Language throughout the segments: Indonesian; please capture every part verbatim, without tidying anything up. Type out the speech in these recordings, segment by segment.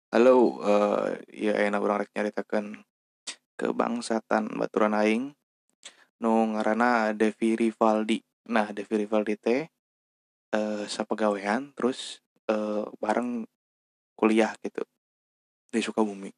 Halo, eh ya enak urang rek nyaritakeun kebangsatan baturan aing nu ngaranna Devi Rivaldi. Nah, Devi Rivaldi teh eh sapagawean terus eh bareng kuliah gitu di Sukabumi.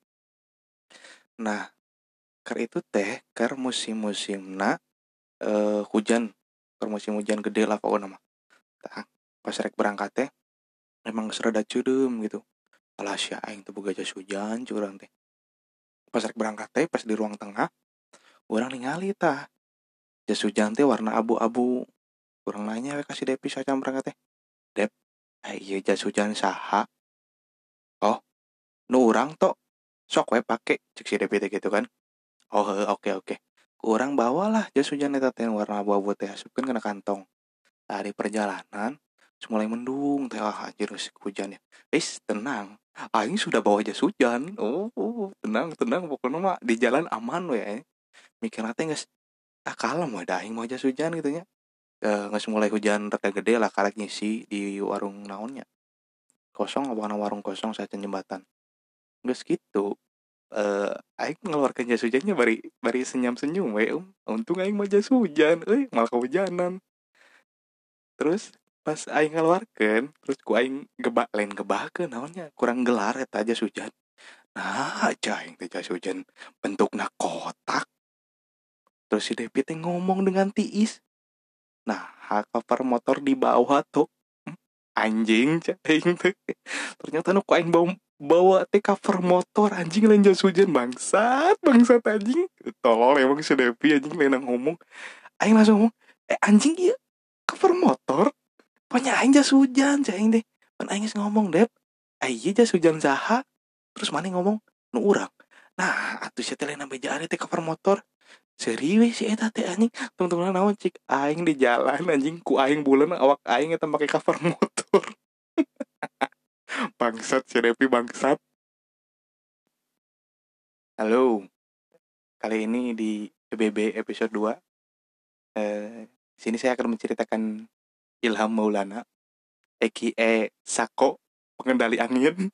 Nah, keur itu teh keur musim-musimna eh hujan, keur musim hujan gede lah pokoknya mah. Tah, pas rek berangkat teh emang geus rada ceudeum gitu. Alah sia aing teu boga jas hujan curang teh. Pas rek berangkat teh pas di ruang tengah urang ningali tah jas hujan teh warna abu-abu. Urang nanya we ka si Depi sacan berangkat teh. Dep, ah ieu jas hujan saha? Oh, nu urang tok. Sok we pake cek si Depi teh gitu kan. Oh, heuh, oke oke. Urang bawalah jas hujan eta teh warna abu-abu teh asupkeun kana kantong. Dari perjalanan terus mulai mendung teh ah anjir geus hujan ya. Is, tenang. Aing sudah bawa jas hujan. Oh, oh, tenang tenang pokoknya mah di jalan aman we. Eh. Mikirna teh geus ah kalem we da aing mau jas hujan gitu nya. Eh, geus mulai hujan rada gede lah karek ngisi di warung naonnya. Kosong apa warung kosong saat jembatan. Geus gitu. Eh, aing mengeluarkan jas hujannya bari bari senyum-senyum we. Um. Untung aing mah jas hujan, euy malah kehujanan. Terus pas aing ngeluarkeun, terus ku aing gebak lain gebakeun naonnya kurang gelar eta jas hujan. Nah, cai teh jas hujan bentukna kotak. Terus si Devi teh ngomong dengan tiis. Nah, cover motor di bawah tuh. Hmm, anjing cai teh. Ternyata nu ku aing bawa bawa teh cover motor anjing lain jas hujan bangsat bangsat anjing tolol emang si Devi anjing lain ngomong aing langsung ngomong eh anjing iya cover motor pokoknya aing jas hujan cai aing deh pan aing geus ngomong Dep ah iya jas hujan saha terus mana ngomong nu urang nah atuh sia teh lain bejaan teh cover motor serius sih eta teh anjing temen-temen naon cik aing di jalan anjing ku aing bulan awak aing eta make cover motor bangsat si Devi bangsat. Halo, kali ini di P B B episode dua. Eh, sini saya akan menceritakan Ilham Maulana, aka Sako, pengendali angin.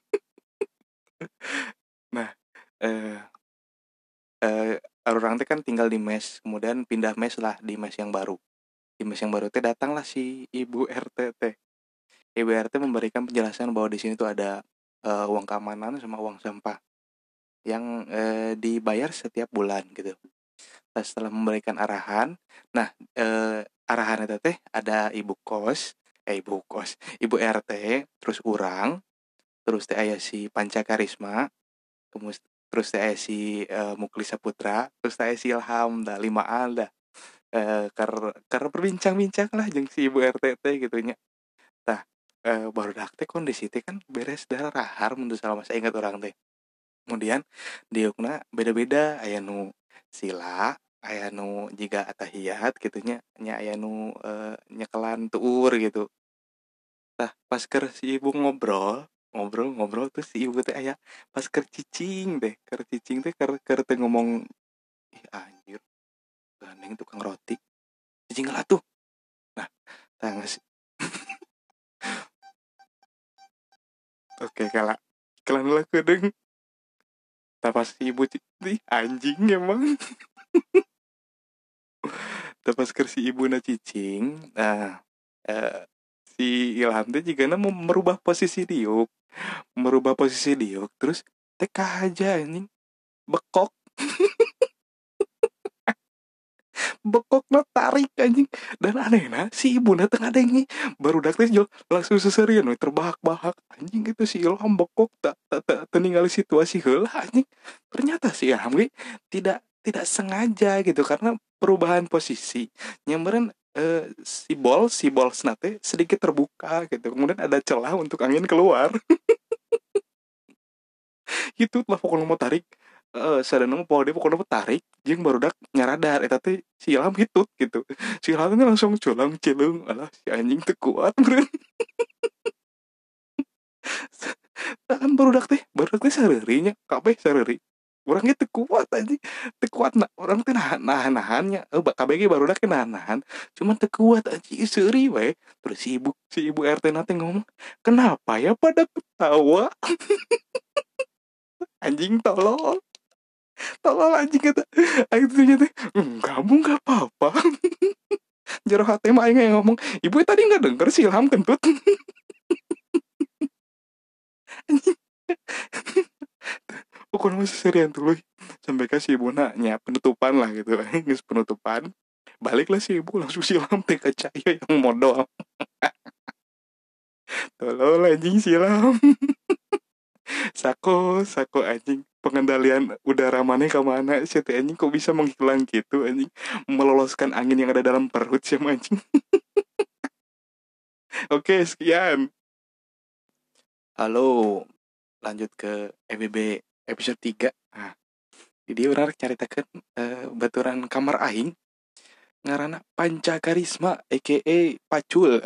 Nah, eh, eh, orang teh kan tinggal di mes, kemudian pindah mes lah di mes yang baru. Di mes yang baru teh datanglah si Ibu R T teh. Ibu R T memberikan penjelasan bahwa di sini tuh ada eh, uang keamanan sama uang sampah yang eh, dibayar setiap bulan gitu. Nah, setelah memberikan arahan, nah eh, arahan itu teh ada ibu kos, eh ibu kos, ibu R T, terus urang, terus teh aya si Panca Karisma, kemus, terus teh aya si eh, Muklis Saputra, terus teh aya si Ilham, dah limaan dah. Eh, ker ker berbincang-bincang lah jeung si ibu R T teh gitu nya. Tah eh, barudak teh kondisi teh kan beres dahar mun salah masa ingat orang teh. Kemudian diukna beda-beda aya nu sila aya nu jiga atahiyat gitunya nya aya nu eh, nyekelan tuur gitu tah pas keur si ibu ngobrol ngobrol ngobrol terus si ibu teh aya pas keur cicing deh keur cicing teh keur keur teh ngomong ih anjir gandeng tukang roti cicing lah tuh nah tangis oke kala kelan lah kedeng tah pas si ibu cicing anjing emang tah pas keur si ibu na cicing nah eh, si Ilham teh juga mau merubah posisi diuk merubah posisi diuk terus teka aja anjing bekok bekok na tarik anjing dan aneh nah si ibu na tengah dengi baru dak teh jol langsung seserian we terbahak-bahak anjing gitu si Ilham bekok tak tak tak ningali situasi heula anjing ternyata si Ilham ge tidak tidak sengaja gitu karena perubahan posisi nyamperan eh, si bol si bol teh sedikit terbuka gitu kemudian ada celah untuk angin keluar gitu lah pokoknya mau tarik eh sadana mah poho dia pokoknya mau tarik jeung barudak nyaradar eta teh si Ilham hitut gitu si Ilham teh langsung culang cilung alah si anjing teu kuat meureun kan barudak teh barudak teh sareuri nya kabeh sareuri urang ge teu kuat anjing teu kuat nah urang teh nahan nahan nahannya eh kabeh ge barudak teh nahan nahan cuman teu kuat anjing seuri we terus si ibu si ibu R T na teh ngomong kenapa ya pada ketawa Anjing tolol. Tolol anjing kata. Aing tuh ternyata kamu nggak apa-apa. Jero hati mah aing yang ngomong, ibu tadi nggak denger si Ilham kentut. Anjing. Pokoknya masih serian dulu sampai kasih ibu nanya penutupan lah gitu. Geus penutupan. Baliklah si ibu langsung si Ilham teh ka cahaya yang modal. Tolol anjing si Ilham. Sako, sako anjing. Pengendalian udara mana ke mana sih teh anjing kok bisa menghilang gitu anjing, meloloskan angin yang ada dalam perut sih anjing. Oke, sekian. Halo, lanjut ke E B B episode tiga. Nah, jadi orang caritakeun uh, baturan kamar aing ngaranna Panca Karisma aka Pacul.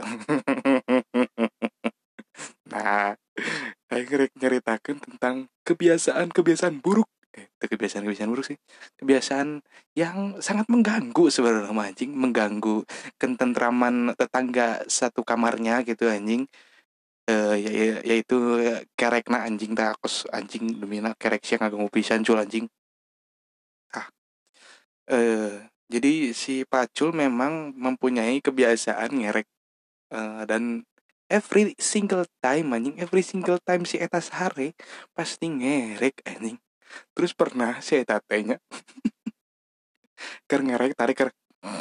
Nah, aing rek nyaritakeun tentang kebiasaan-kebiasaan buruk. Eh, kebiasaan-kebiasaan buruk sih. Kebiasaan yang sangat mengganggu sebenarnya anjing, mengganggu ketentraman tetangga satu kamarnya gitu anjing. Eh ya, ya, yaitu kerekna anjing takos anjing demina kerek sih ngaganggu pisan cul anjing. Ah, eh jadi si Pacul memang mempunyai kebiasaan ngerek eh, dan every single time anjing, every single time si eta sehari pasti ngerek anjing. Terus pernah si eta tanya ker ngerek tarik ker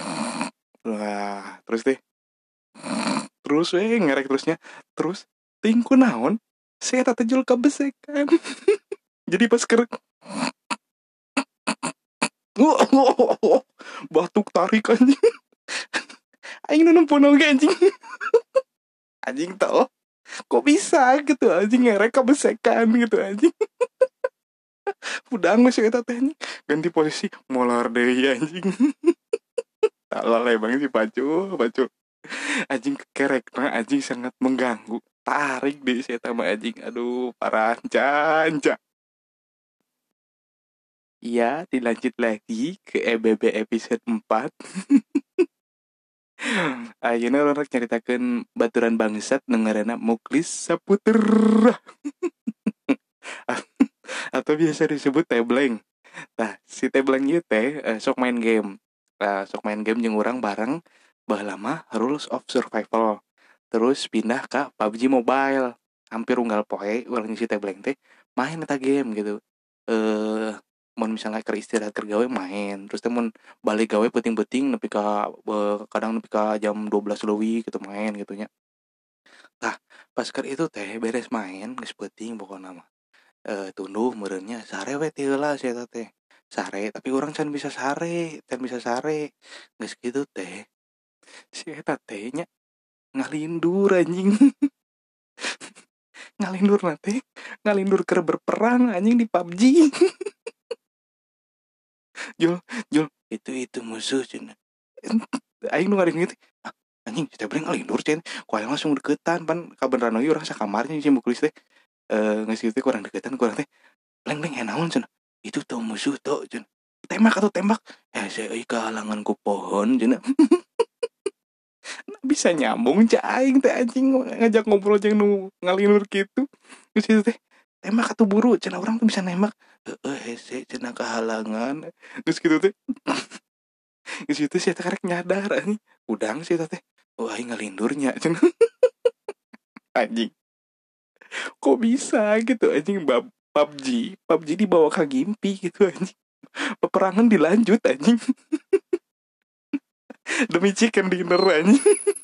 wah terus deh terus weh ngerek terusnya terus tingku naon si eta tejul kebesekan. Jadi pas ker batuk tarik anjing. Aing nu nempuh oge anjing. Anjing tau kok bisa gitu anjing ngerek kebesekan gitu anjing. Udah nggak sih eta teh ganti posisi molar deui anjing. Talal banget si Pacu, Pacu. Anjing kerek mah anjing sangat mengganggu. Tarik deh si eta mah anjing. Aduh, parah anca. Iya, dilanjut lagi ke E B B episode empat. Ayeuna orang nyaritakeun baturan bangsat nengaranna Muklis Saputer. Atau biasa disebut tebleng. Nah, si tebleng ieu teh uh, sok main game. Uh, sok main game jeung urang bareng baheula mah Rules of Survival. Terus pindah ke P U B G Mobile. Hampir unggal poe urang si tebleng teh main eta game gitu. Eh uh, mun misalnya keur istirahat keur gawe main, terus teh mun balik gawe penting-penting nepi ka uh, kadang nepi ka jam dua belas leuwih gitu main gitu nya. Tah, pas keur itu teh beres main geus penting pokona mah. Eh tunduh meureunnya sare we ti heula si eta teh. Sare, tapi orang can bisa sare, can bisa sare. Geus kitu teh. Si eta teh nya ngalindur anjing. Ngalindur nanti, ngalindur keur berperang anjing di P U B G. Jul, Jul, itu itu musuh cenah. Aing nu ngaring gitu. Ah, anjing kita bring ngalindur cen. Ku aya langsung deketan pan kabeneran ieu urang sakamarnya si Muklis teh. Eh geus kitu kurang deketan kurang teh. Leng-leng enaon cenah. Itu tuh musuh tuh cenah. Tembak atau tembak. Eh saya euy kehalangan ku pohon cenah. Bisa nyambung cak aing teh anjing ngajak ngobrol jeung nu ngalindur kitu. Geus kitu teh. Tembak atau buru cenah urang tuh bisa nembak. Heeh hese cenah kehalangan. Geus kitu teh. Geus kitu si eta karek nyadar anjing. Udang si eta teh. Oh aing ngalindurnya cenah. Anjing. Kok bisa gitu anjing bab P U B G, P U B G dibawa ke Gimpi gitu anjing. Peperangan dilanjut anjing. Demi chicken dinner anjing.